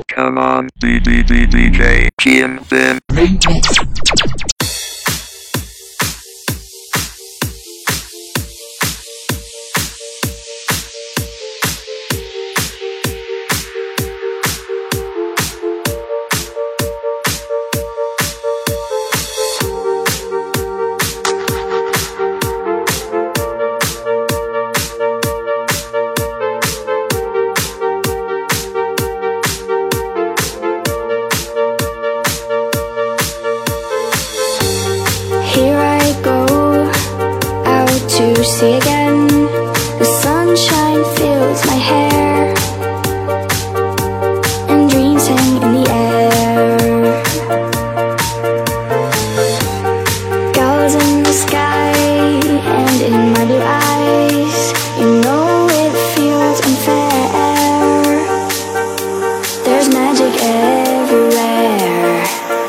Come on, DJ Jim Finn. See again, the sunshine fills my hair, and dreams hang in the air. Gulls in the sky and in my blue eyes, you know it feels unfair. There's magic everywhere.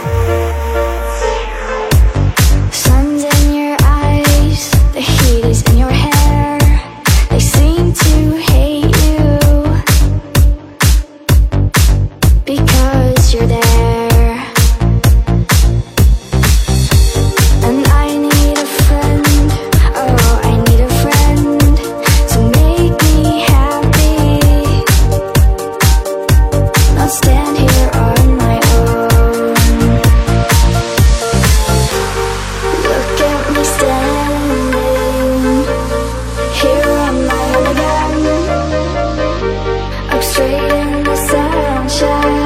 Sun's in your eyes, the heat is in your hair. They seem to hate you because you're there. And I need a friend, oh I need a friend to make me happy, not stand here on my own. Look at me standing here on my own again, up straight in the sunshine.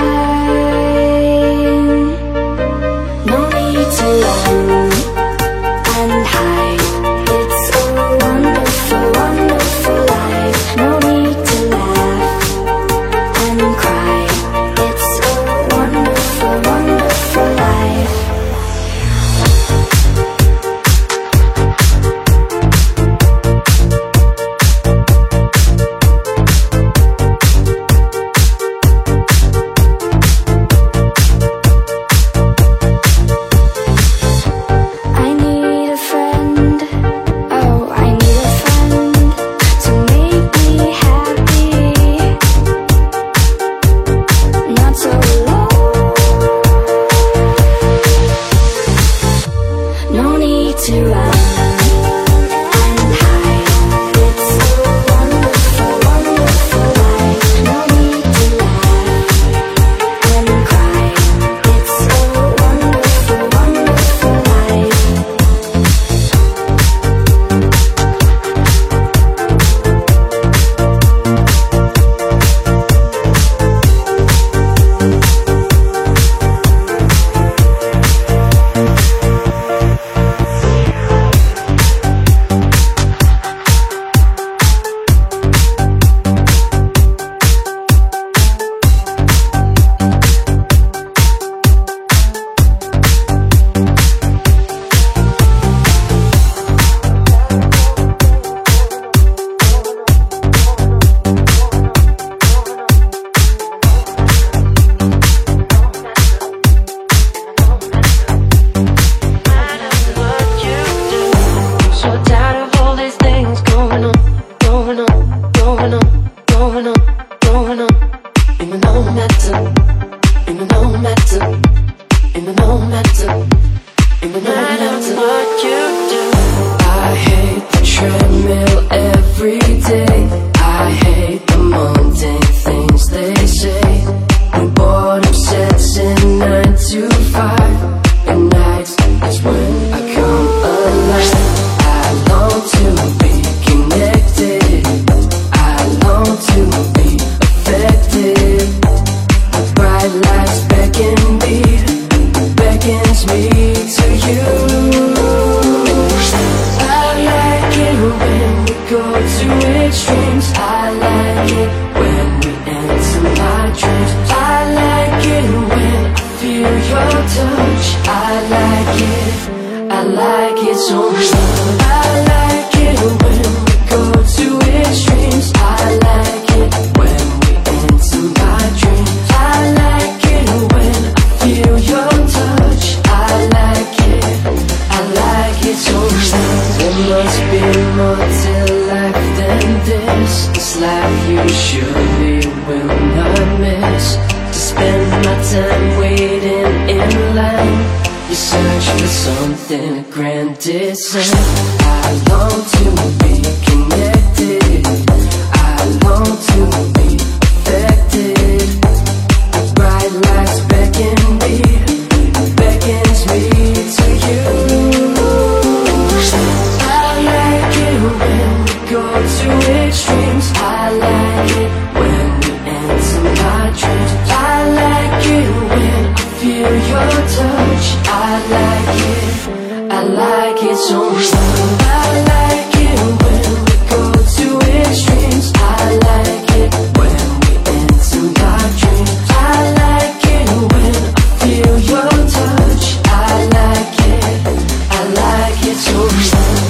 No need to run and hide, it's a wonderful, wonderful life. No need to laugh and cry, it's a wonderful, wonderful life. I need a friend, oh I need a friend to make me happy, not so alone. No need to run and hide, it's a wonderful, wonderful life. No need to laugh and cry, it's a wonderful, wonderful life. So tired of all these things going on, going on, going on, going on, going on. In the no matter, in the no matter, in the no matter, in the no matter what you do. I hate the treadmill every day. I hate the mundane things they say. When boredom sets in 9 to 5, at night is when I come alive. I long to be connected, I long to be affected. The bright lights beckons me to you. I like it when we go to extremes. I like my time waiting in line. You search for something grand design. I long to be connected. I long to be affected. Bright lights beckons me to you. I like it when we go to extremes. I like it when we enter my dreams. I like it when I feel your touch. I like it so much. I like it when we go to extremes. I like it when we enter my dreams. I like it when I feel your touch. I like it so much.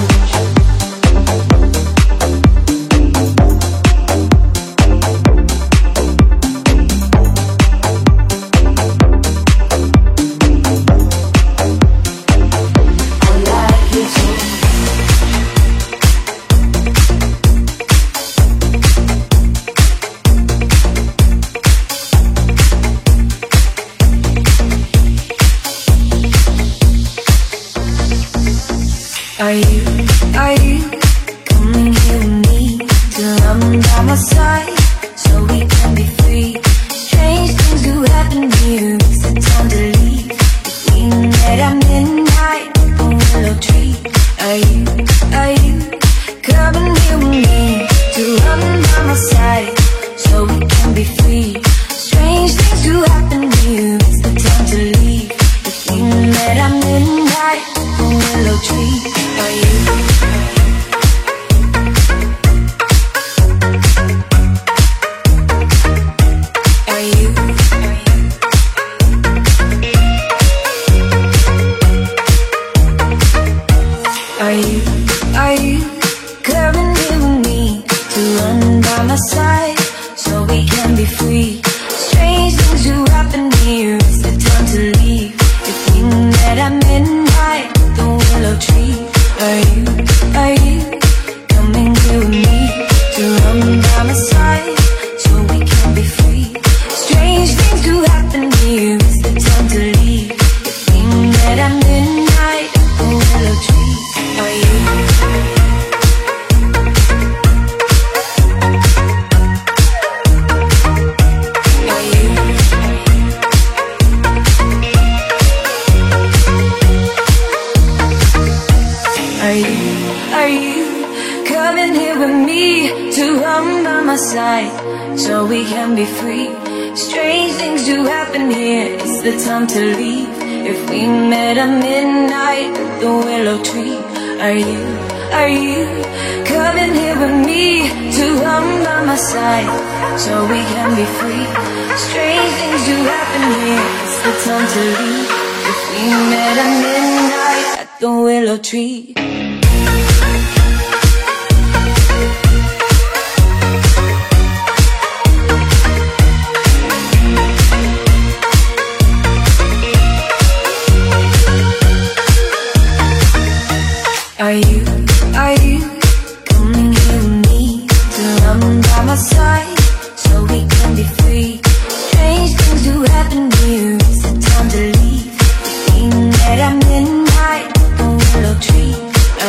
Are you coming here with me till I'm by my side, so we can be free? Strange things do happen here, it's the time to leave. If we met at midnight, the willow tree. Are you coming here with me till I'm by my side, so we can be free? Strange things do happen here, it's the time to leave. If we met at midnight, the willow tree. Are you? Are you coming here with me to run by my side, so we can be free? Strange things do happen here, it's the time to leave. If we met at midnight, the willow tree. Are you coming here with me to run by my side, so we can be free? Strange things do happen here, it's the time to leave. If we met at midnight, the willow tree. Are you? Are you coming here with me to run by my side, so we can be free? Strange things do happen here, it's the time to leave. If we met at midnight at the willow tree. Are you coming here with me to run by my side, so we can be free? Strange things do happen here, it's the time to leave. If we met at midnight at the willow tree. Are you coming here with me to run by my side, so we can be free? Strange things do happen here, it's the time to leave. If we met at midnight, the willow tree.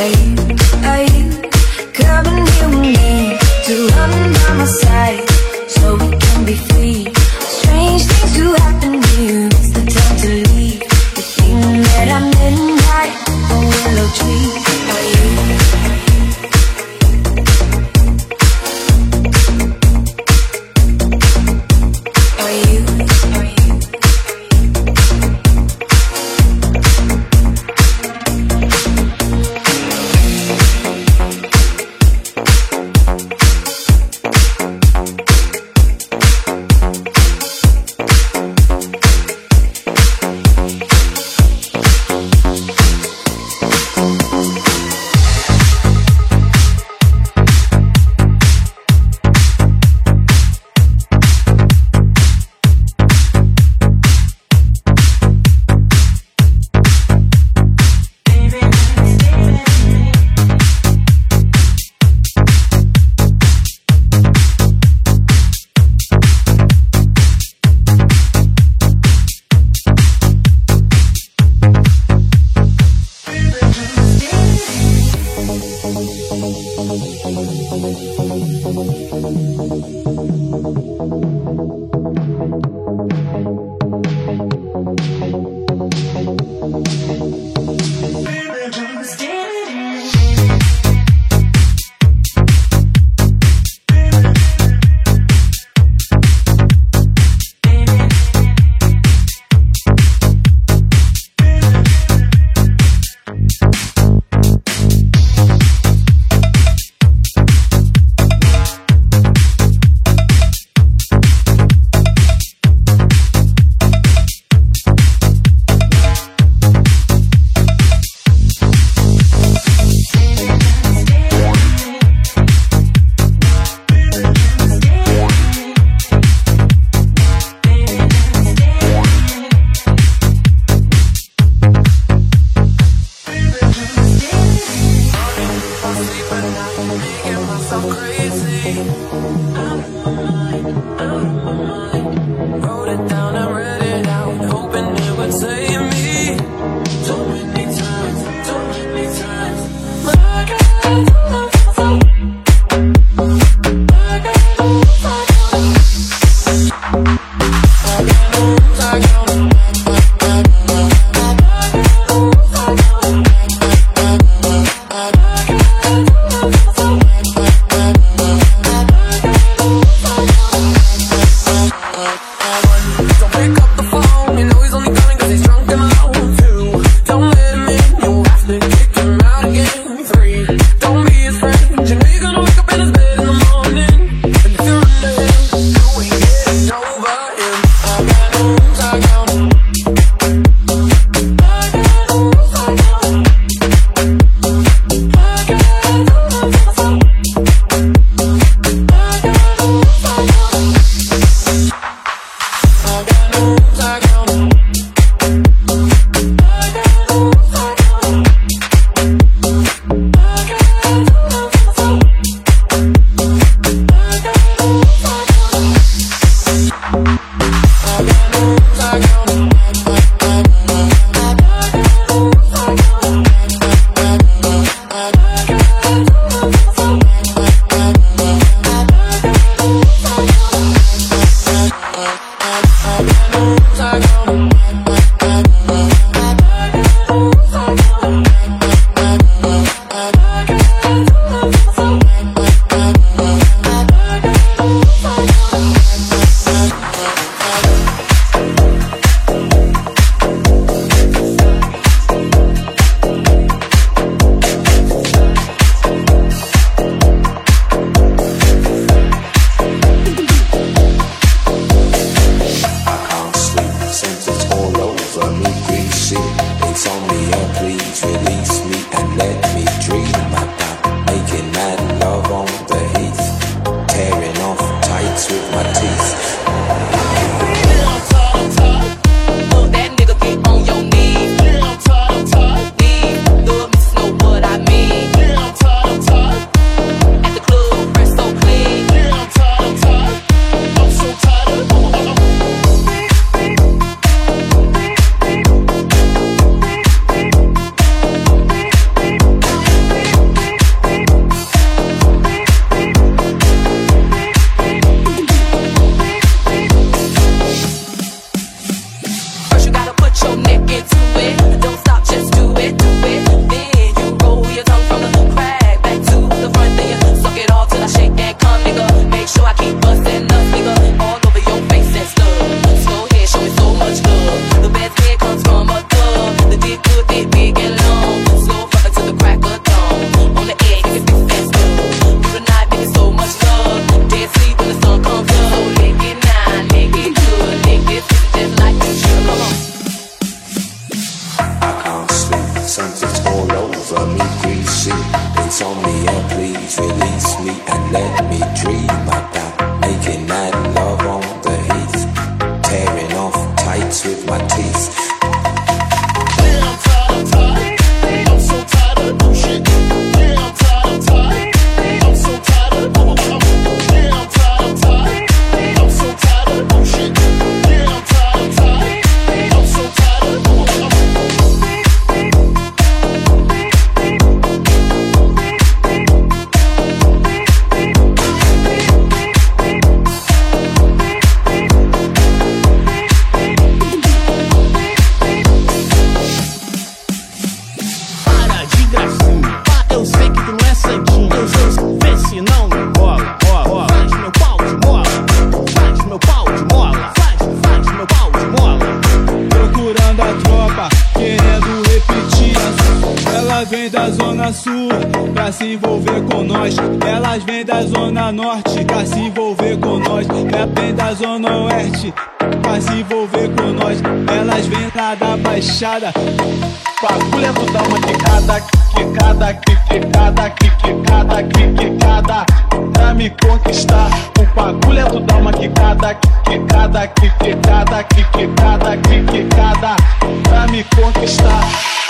vem da zona sul pra se envolver com nós. Elas vêm da zona norte pra se envolver com nós. Vem da zona oeste pra se envolver com nós. Elas vêm lá da baixada. Bagulho é tu dar uma quicada, quicada, quicada, quicada, quicada, pra me conquistar. O bagulho é tu dar uma quicada, quicada, quicada, quicada, quicada, pra me conquistar.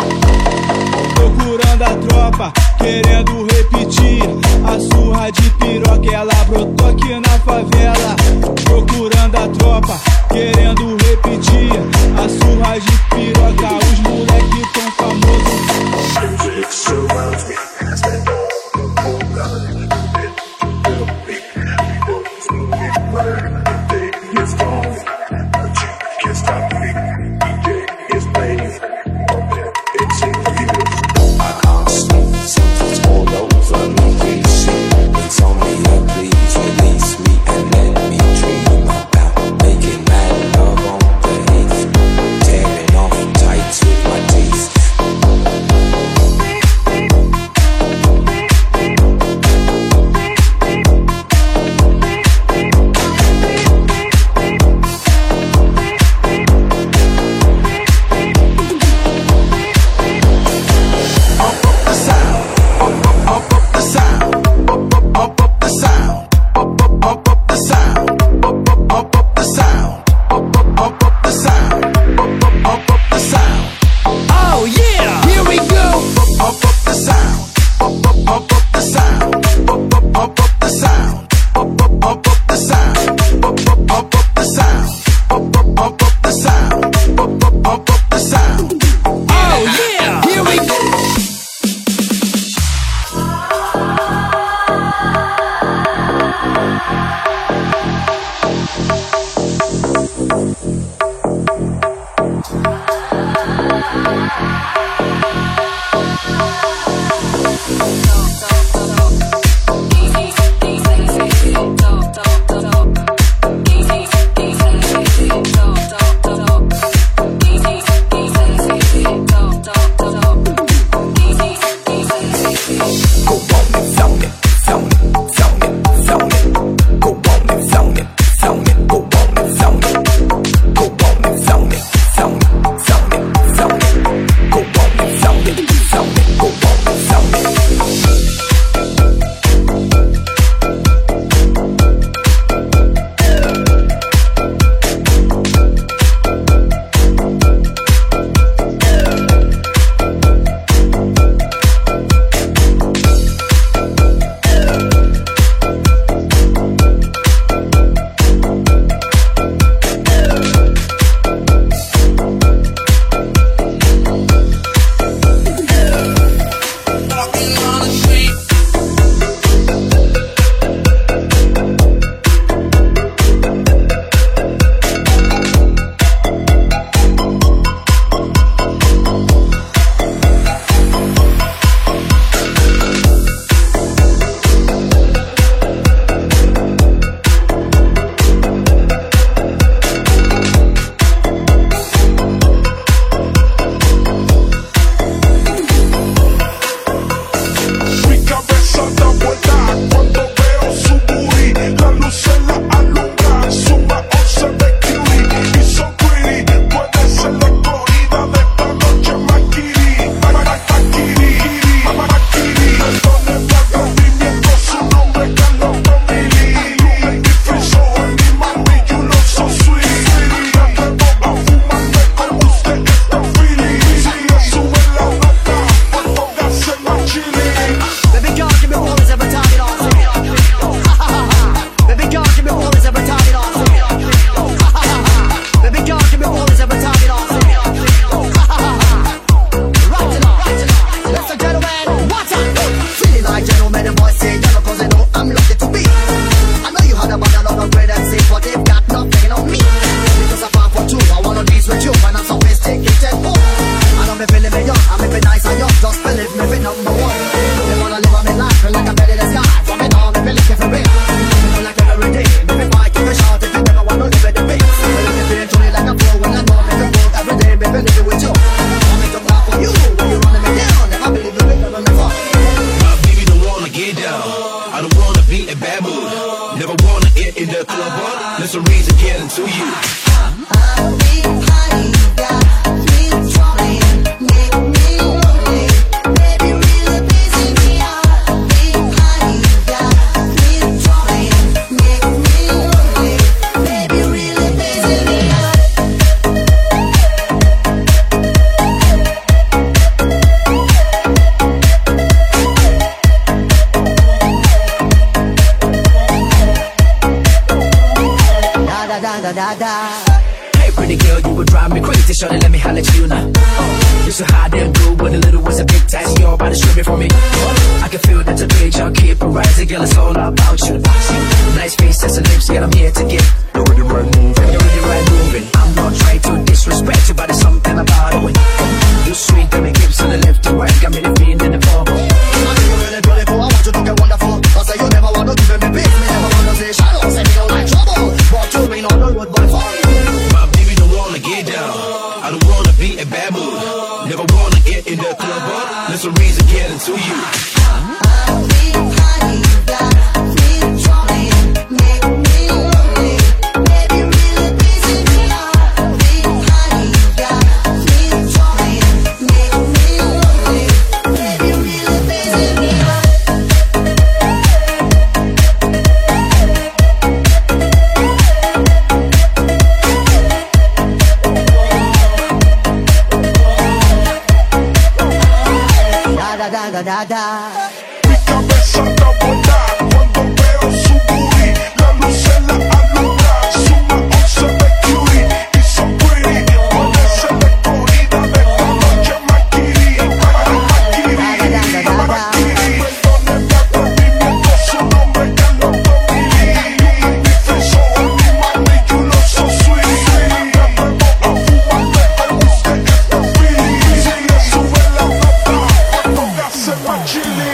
Procurando a tropa, querendo repetir a surra de piroca, ela brotou aqui na favela. Procurando a tropa, querendo repetir a surra de piroca, os moleque tão famosos. Music surrounds me, I stand on the whole line. It'll be happy, but it's moving right. The day is gone. Hey pretty girl, you would drive me crazy. Shorty, let me holler at you now. You're so hot and good, but a little was a big task. You're about to strip it for me. I can feel that the page, I'll keep it rising. Girl, it's all about you. Nice face, that's the lips, girl, I'm here to get. You're really right moving. You're really right moving. I'm not trying to disrespect you, but there's something about it. When you're sweet, got me hips on the left to right. Got me the feeling in the bubble. I think you're really beautiful, I want you to get wonderful. I say you never want to give me peace. Me never want to say shadow, say me don't like trouble. But you ain't on the road, boy, for my baby don't wanna get down. I don't wanna be a bad mood. Never wanna get in the club, but there's a reason getting to you. Mi cabeza está botada cuando veo su booty. La luz en la alumbra, suma 11 de cutie. Y so pretty, puede ser escogida de esta noche maquiri. Perdóneme atrevimiento, su nombre ya lo dominé. You make me feel so happy, mommy, you look so sweet. Me atrevo a fumarte el whisky que está free. Si le sube la nota, cuando me hace más chili.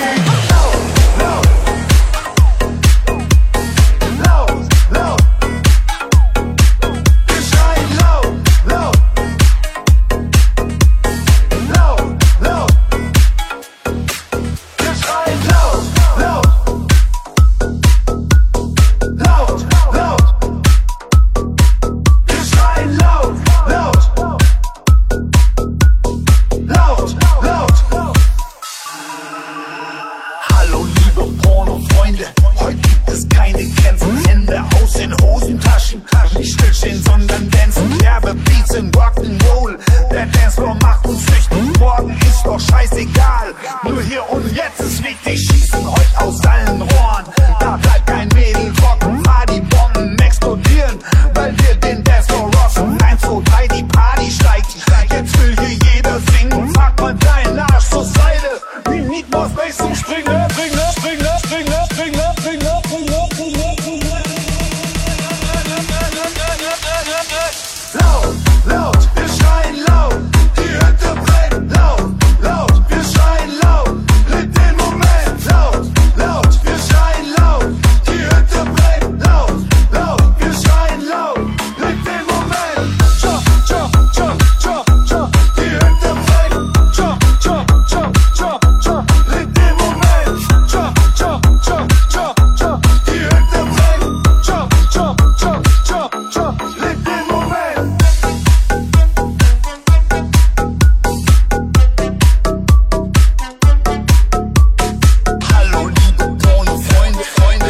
Hallo liebe Pornofreunde, heute gibt es keine Grenzen. Hände aus den Hosentaschen, nicht stillstehen, sondern dancen. Derbe Beats in Rock'n'Roll, der Dancefloor macht uns süchtig. Morgen ist doch scheißegal, nur hier und jetzt ist wichtig. Schießen heute aus allen Rohren, da bleibt kein Mädel trocken. Party-Bomben explodieren, weil wir den Dancefloor rocken. 1, 2, 3, die Party steigt, jetzt will hier jeder singen. Pack mal deinen Arsch zur Seite, we need more space zum Springen. Laut, wir schreien laut, die Hütte brennt. Laut, wir schreien laut, mit dem Moment. Laut, wir schreien laut, die Hütte brennt. Laut, wir schreien laut, mit dem Moment. Die Hütte brennt. Mit dem Moment. Die Hütte brennt. Mit dem Moment. Hallo liebe Pornofreunde, Freunde.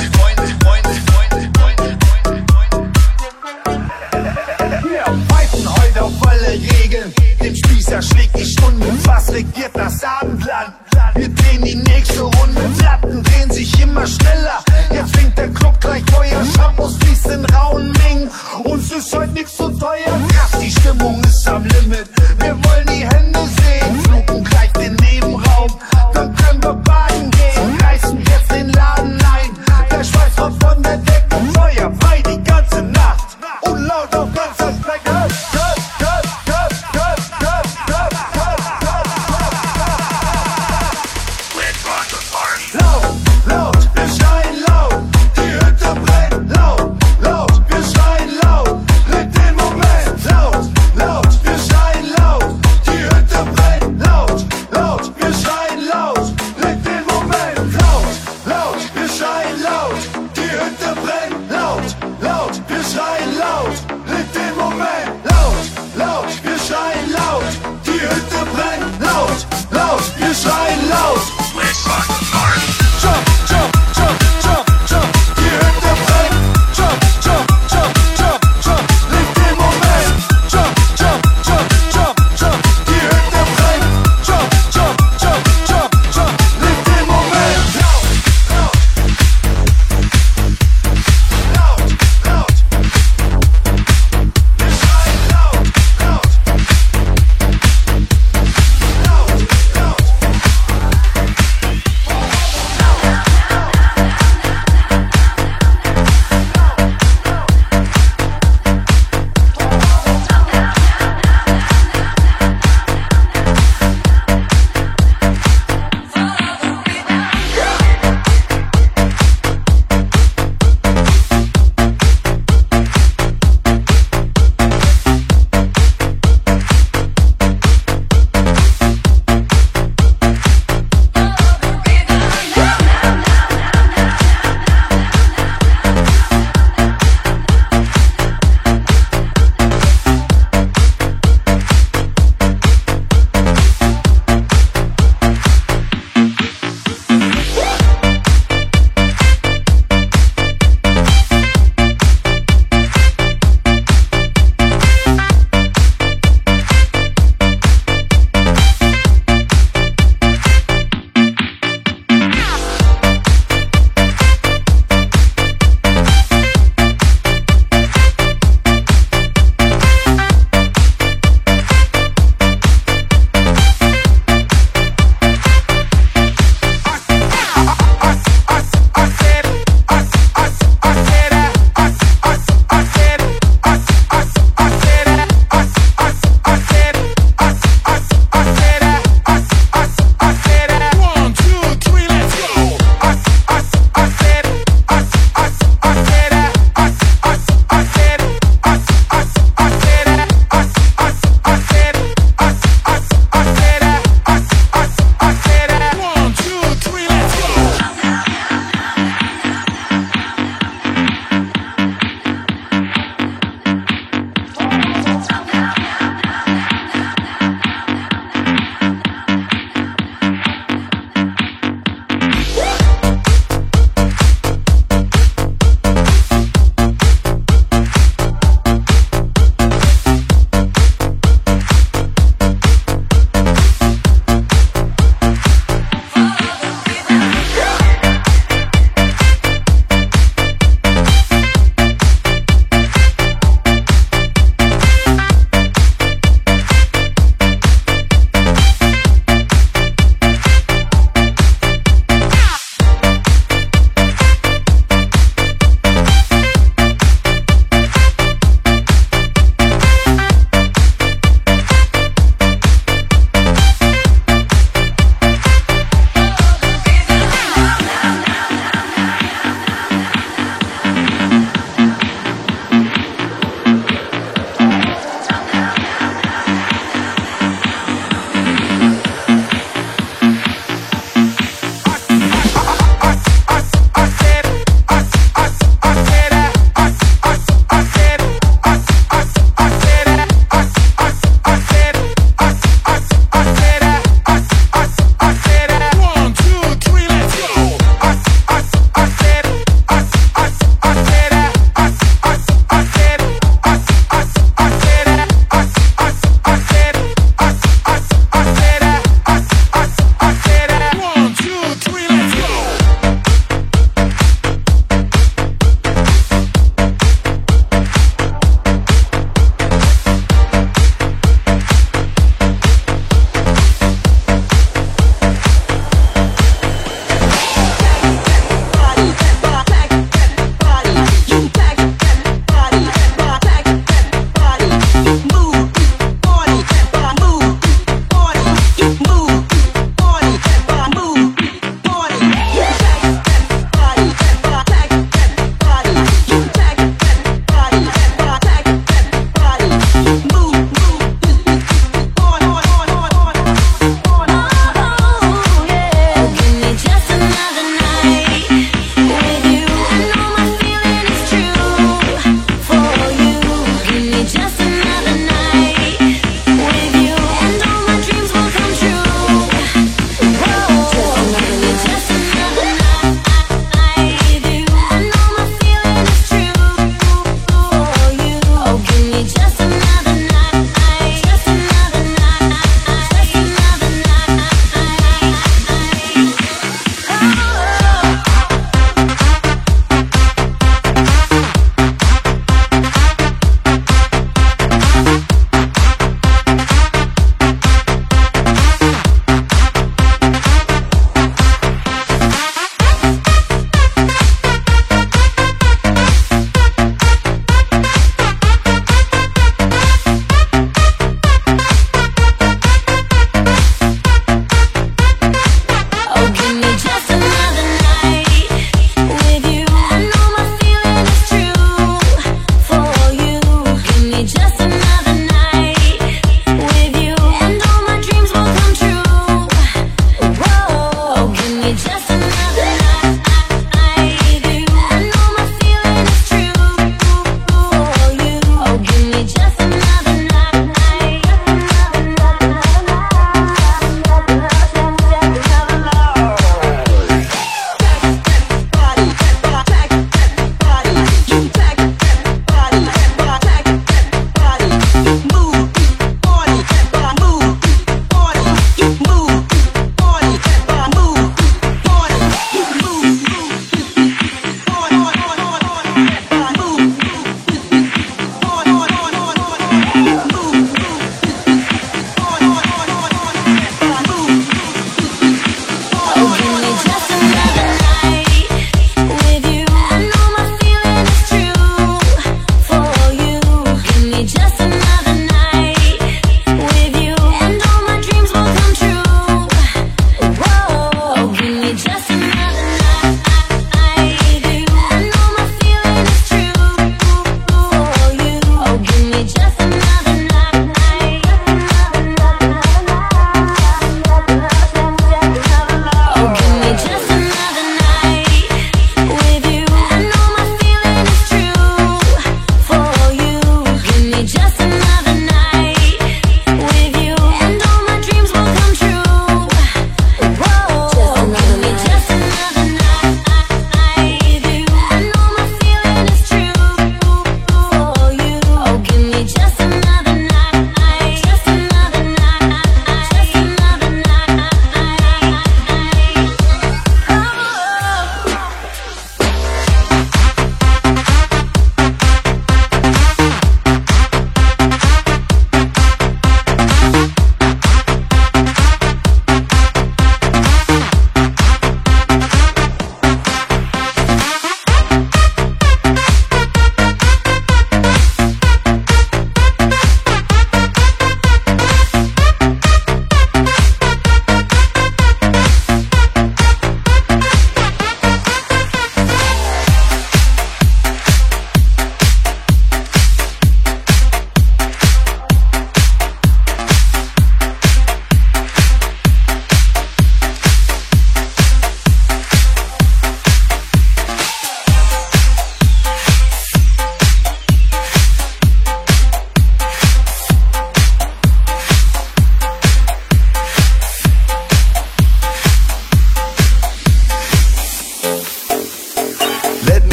Wir pfeifen heute auf alle Regeln. Den Spießer schlägt die Stunde, was regiert das Abendland? Wir drehen die nächste Runde, Platten drehen sich immer schneller. Jetzt fängt der Club gleich Feuer, Shampoos fließt in rauen Mengen. Uns ist heute nichts so teuer, krass, die Stimmung ist am Limit. Wir wollen die Hände sehen, fluchen gleich den Nebenraum. Dann können wir baden gehen, reißen jetzt den Laden ein. Der Schweiß kommt von der Decke, Feuer frei die ganze Nacht. Und laut auf ganzer Strecke. Laut, wir schreien laut, die Hütte brennt. Laut, wir schreien laut, mit dem Moment. Laut, wir schreien laut,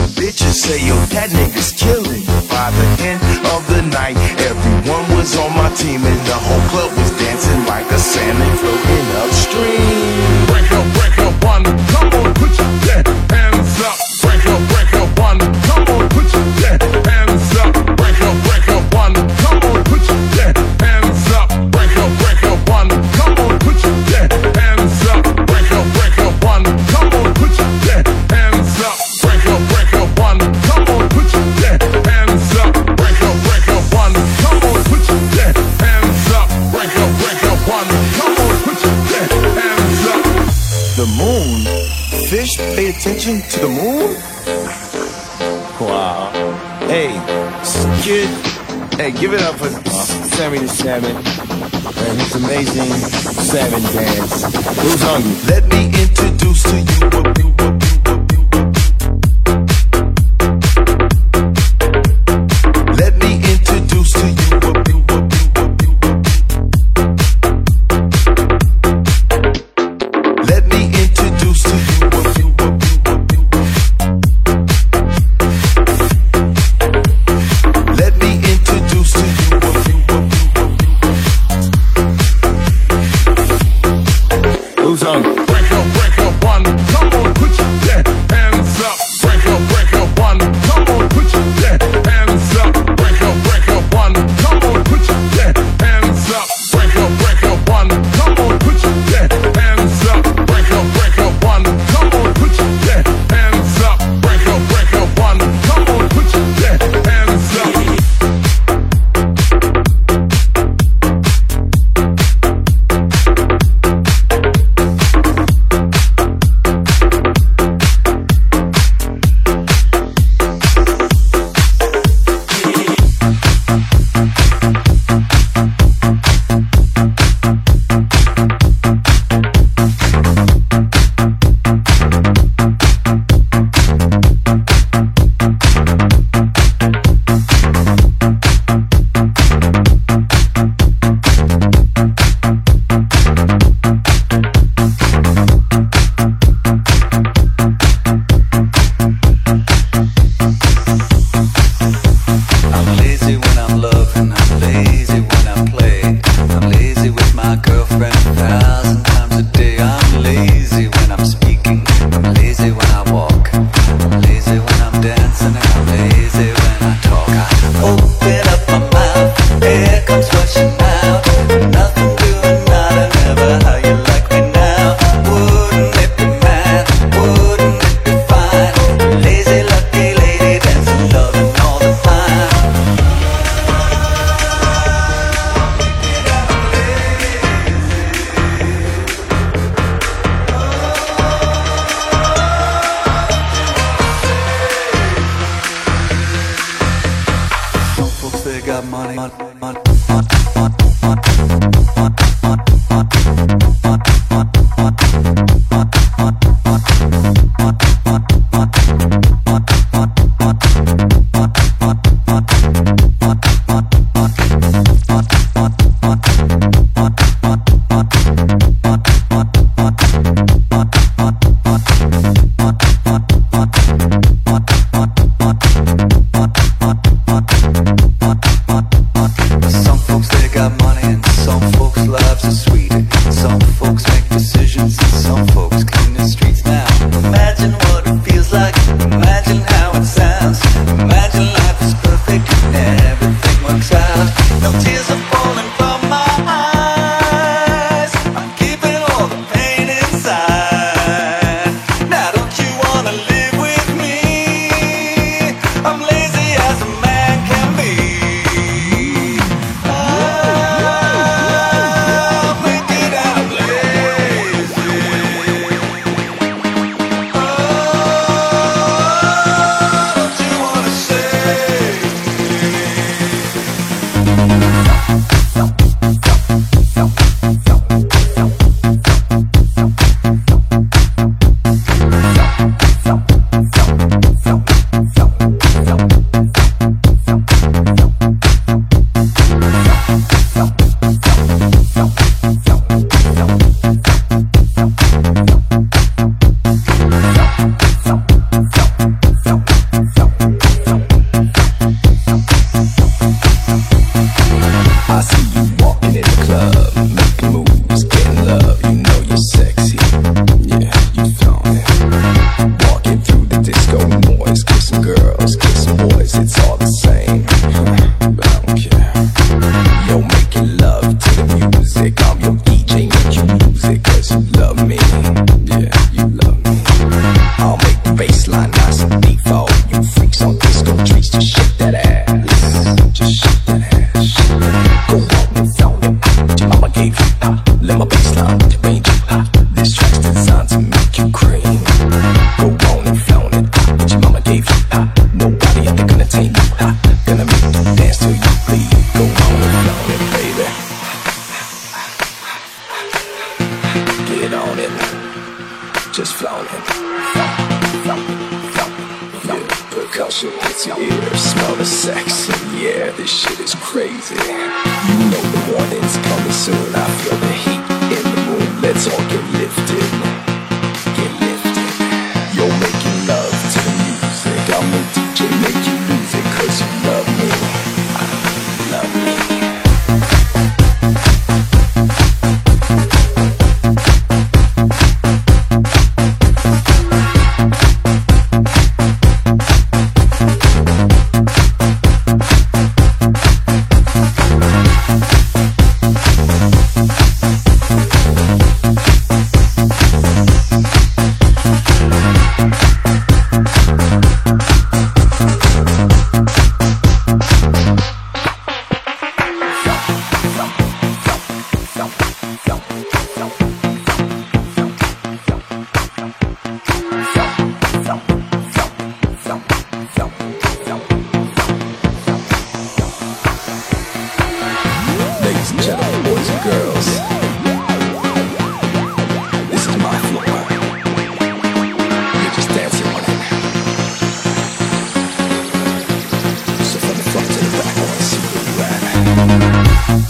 the bitches say, yo, that nigga's killing. By the end of the night, everyone was on my team and the whole club was dancing like a salmon floating upstream. Break up, one, come on, put your hands up. Break up, one, come on, put your hands up. Break up, one, come on, put your hands up. Break up, one, come on, put your hands up. Break up, one, come on, put your hands up. Break up, one, come on, put your hands up. Break up, one, come on, put your hands up. Break up, one, come on, put your hands up. The moon? Fish pay attention to the moon? Wow. Hey, kid. Hey, give it up for Sammy the Salmon and his amazing salmon dance. Who's hungry? Let me introduce to you Let me introduce to you Let me introduce to you Let me introduce to you Who's hungry? Break up, one, come on, put your hands up. Break up, one, come on, put your hands up. Break up, one, come on, put your hands up. Break up, one, come on, put your hands up. Break up, one, come on, put your hands up. Break up, one, come on, put your hands up. I'm lazy when I'm loving, I'm lazy when I play. I'm lazy with my girlfriend 1,000 times a day. I'm lazy when I'm speaking, I'm lazy when I walk. I'm lazy when I'm dancing, and I'm lazy when I talk. I open up my mouth, air comes rushing out. Nothing doing, nada, never how you like me now. Wouldn't it be mad, wouldn't it be fine? Lazy, lucky lady, dancing, loving all the time. Some folks, they got money, girls, kissing boys, it's all the same. But I don't care. Yo, making love to the music. I'm your DJ, make you lose it, cause you love me. Yeah, you love me. I'll make the bassline nice and deep for all you freaks on disco trees. Just shake that ass. Just shake that ass. Go on and flaunt it. Your mama gave you let my bassline range you. This track's designed to make you cream. Go on and flaunt it. Your mama gave you nobody out there gonna tame you. Gonna make you dance till you bleed. Go on and flaunt it, baby. Get on it. Just flaunt it. Yeah, percussion hits your ears. Smell the sex and yeah, this shit is crazy. You know the morning's coming soon. I feel the heat in the room. Let's all get lifted. Get lifted. You're making love to the music. I'm the DJ, make you lose it, cause you love me. Love me. Ladies and gentlemen, boys and girls, this is my floor. You're just dancing on it. So from the front to the back, I wanna see where you at.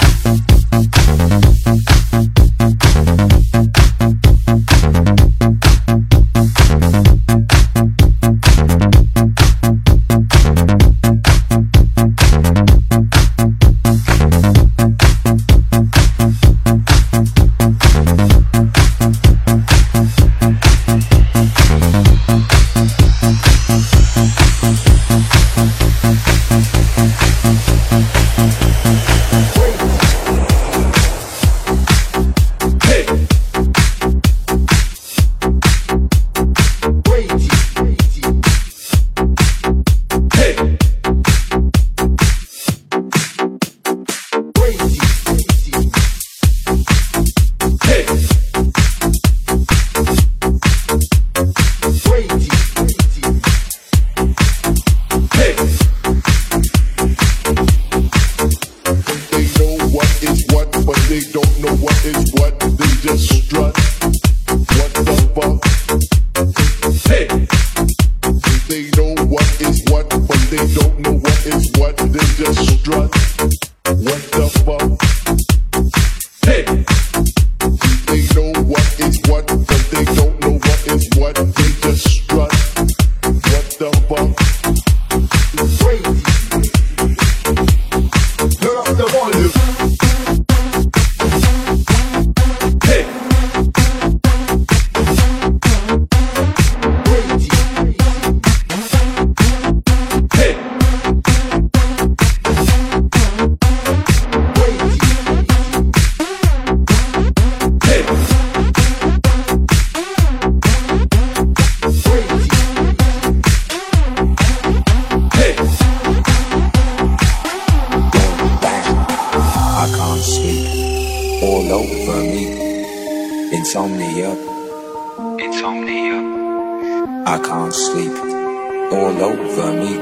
I can't sleep, all over me.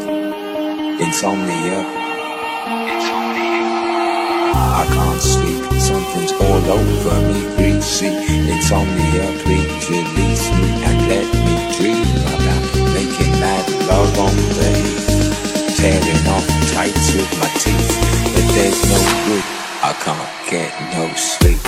Insomnia. I can't sleep, something's all over me. Greasy insomnia, please release me and let me dream about making mad love on days, tearing off tights with my teeth. But there's no good, I can't get no sleep.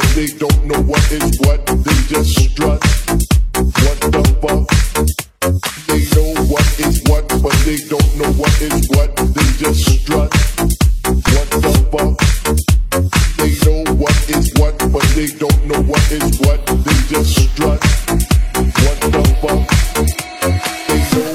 but they don't know what is what. They just strut. What the fuck? They know what is what, but they don't know what is what. They just strut. What the fuck? They know what is what, but they don't know what is what. They just strut. What the fuck? They know.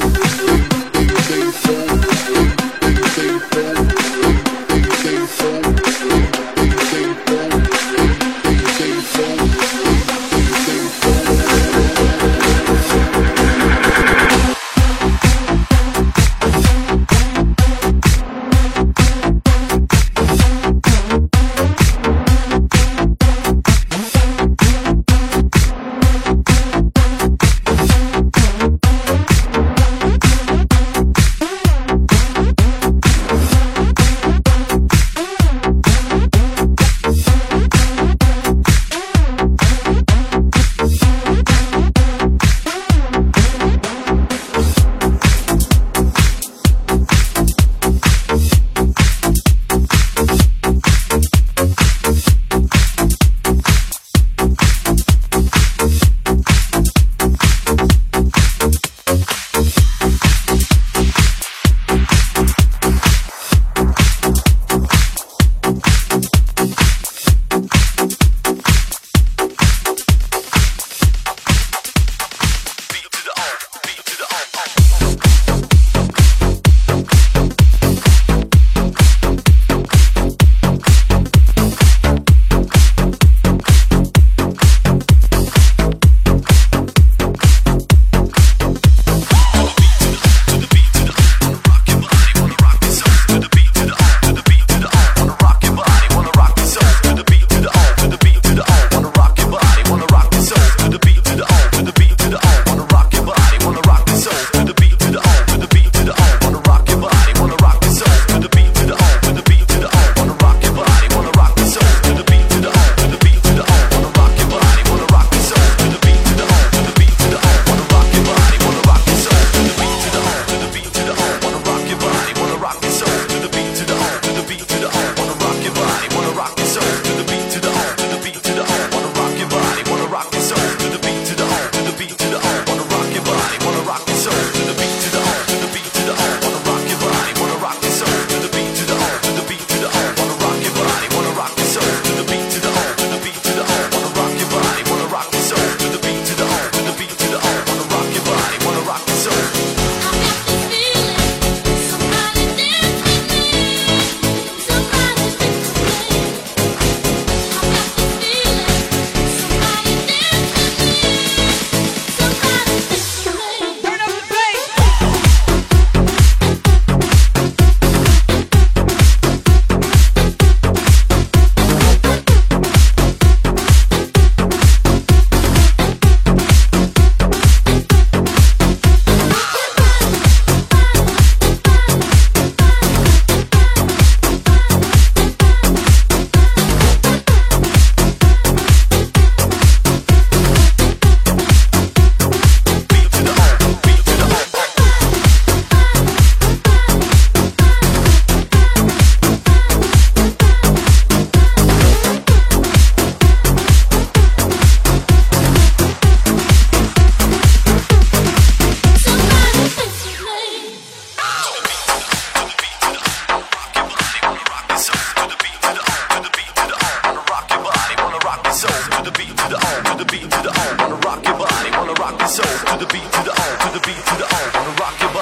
soul, to the beat, to the on, to the beat, to the on, wanna rock your body.